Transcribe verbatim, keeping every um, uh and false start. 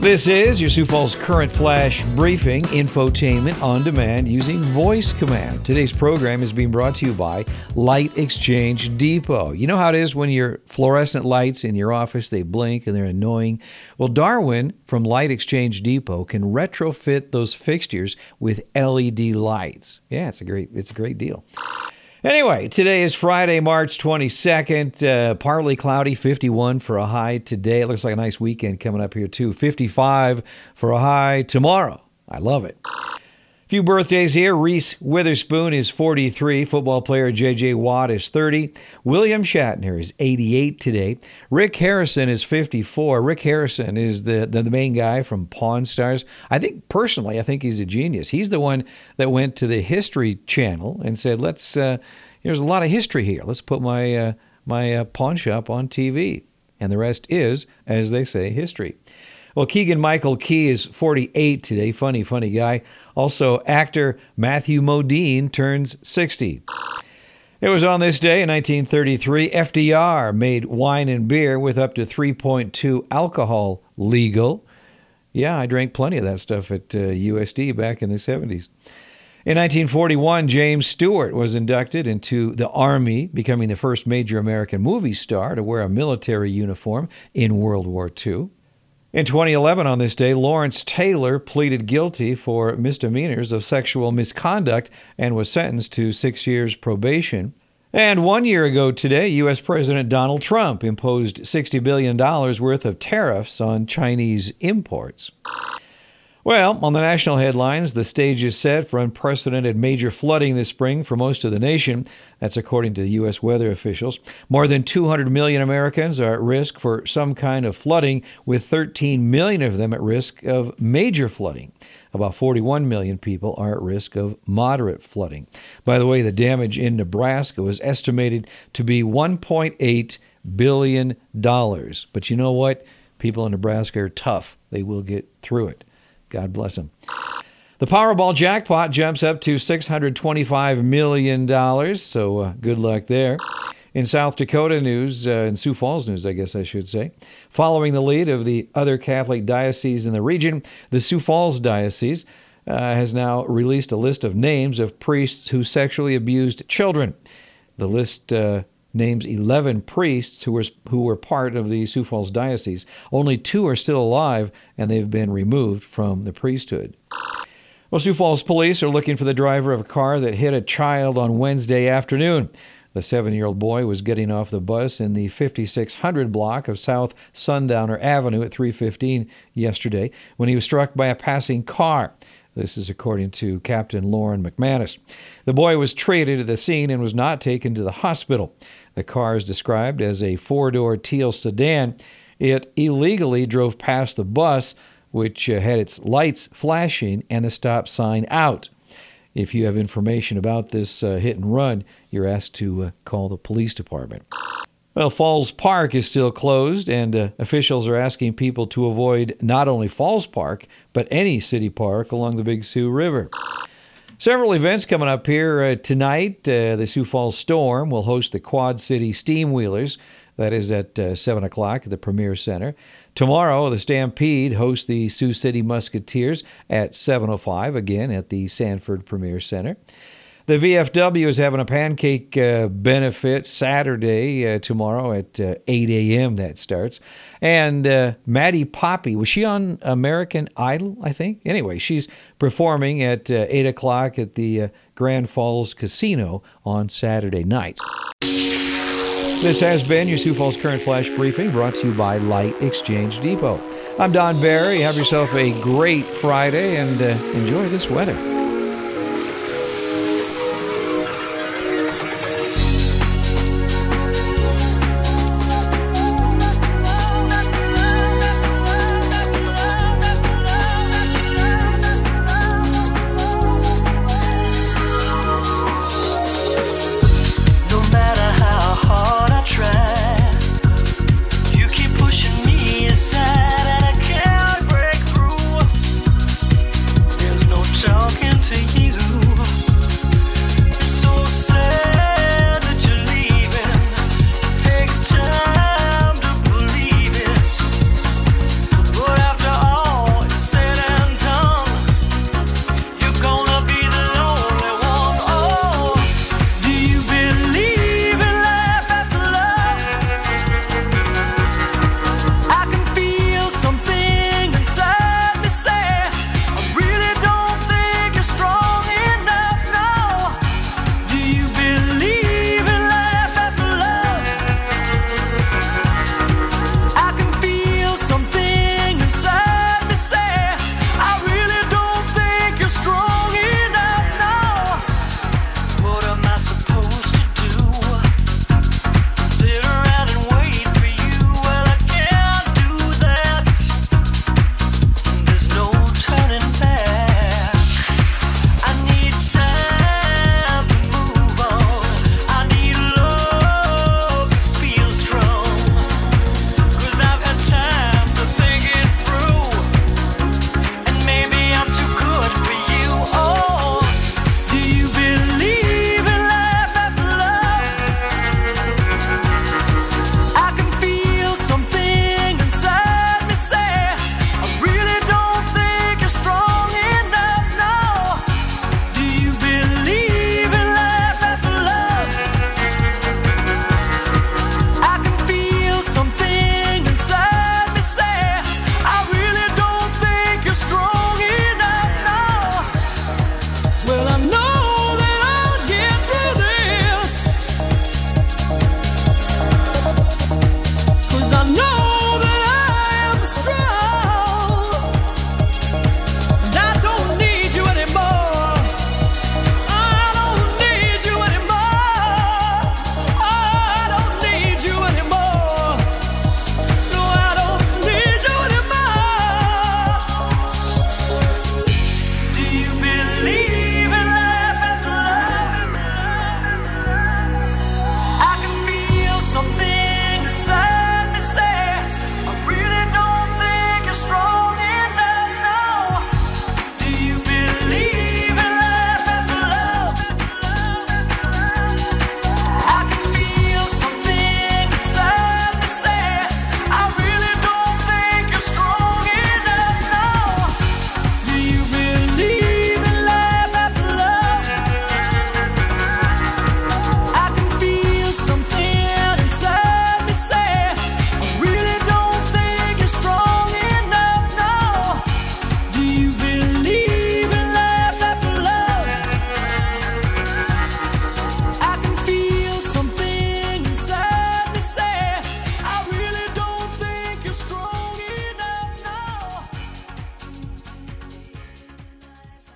This is your Sioux Falls Current Flash Briefing, infotainment on demand using voice command. Today's program is being brought to you by Light Exchange Depot. You know how it is when your fluorescent lights in your office, they blink and they're annoying? Well, Darwin from Light Exchange Depot can retrofit those fixtures with L E D lights. Yeah, it's a great, it's a great deal. Anyway, today is Friday, March twenty-second. Uh, partly cloudy, fifty-one for a high today. It looks like a nice weekend coming up here, too. fifty-five for a high tomorrow. I love it. A few birthdays here. Reese Witherspoon is forty-three. Football player J J. Watt is thirty. William Shatner is eighty-eight today. Rick Harrison is fifty-four. Rick Harrison is the, the, the main guy from Pawn Stars. I think, personally, I think he's a genius. He's the one that went to the History Channel and said, let's, uh, there's a lot of history here. Let's put my, uh, my uh, pawn shop on T V. And the rest is, as they say, history. Well, Keegan-Michael Key is forty-eight today. Funny, funny guy. Also, actor Matthew Modine turns sixty. It was on this day in nineteen thirty-three, F D R made wine and beer with up to three point two alcohol legal. Yeah, I drank plenty of that stuff at uh, U S D back in the seventies. In nineteen forty-one, James Stewart was inducted into the Army, becoming the first major American movie star to wear a military uniform in World War Two. In twenty eleven, on this day, Lawrence Taylor pleaded guilty for misdemeanors of sexual misconduct and was sentenced to six years probation. And one year ago today, U S. President Donald Trump imposed sixty billion dollars worth of tariffs on Chinese imports. Well, on the national headlines, the stage is set for unprecedented major flooding this spring for most of the nation. That's according to the U S weather officials. More than two hundred million Americans are at risk for some kind of flooding, with thirteen million of them at risk of major flooding. About forty-one million people are at risk of moderate flooding. By the way, the damage in Nebraska was estimated to be one point eight billion dollars. But you know what? People in Nebraska are tough. They will get through it. God bless them. The Powerball jackpot jumps up to six hundred twenty-five million dollars, so uh, good luck there. In South Dakota news, uh, in Sioux Falls news, I guess I should say, following the lead of the other Catholic dioceses in the region, the Sioux Falls Diocese uh, has now released a list of names of priests who sexually abused children. The list uh, names eleven priests who were who were part of the Sioux Falls Diocese. Only two are still alive, and they've been removed from the priesthood. Well, Sioux Falls police are looking for the driver of a car that hit a child on Wednesday afternoon. The seven-year-old boy was getting off the bus in the fifty-six hundred block of South Sundowner Avenue at three fifteen yesterday when he was struck by a passing car. This is according to Captain Lauren McManus. The boy was treated at the scene and was not taken to the hospital. The car is described as a four-door teal sedan. It illegally drove past the bus, which uh, had its lights flashing and the stop sign out. If you have information about this uh, hit and run, you're asked to uh, call the police department. Well, Falls Park is still closed, and uh, officials are asking people to avoid not only Falls Park, but any city park along the Big Sioux River. Several events coming up here uh, tonight. Uh, the Sioux Falls Storm will host the Quad City Steam Wheelers. That is at uh, seven o'clock at the Premier Center. Tomorrow, the Stampede hosts the Sioux City Musketeers at seven oh five, again at the Sanford Premier Center. The V F W is having a pancake uh, benefit Saturday, uh, tomorrow at uh, eight a.m. that starts. And uh, Maddie Poppy, was she on American Idol, I think? Anyway, she's performing at uh, eight o'clock at the uh, Grand Falls Casino on Saturday night. This has been your Sioux Falls Current Flash Briefing, brought to you by Light Exchange Depot. I'm Don Barry. Have yourself a great Friday and uh, enjoy this weather.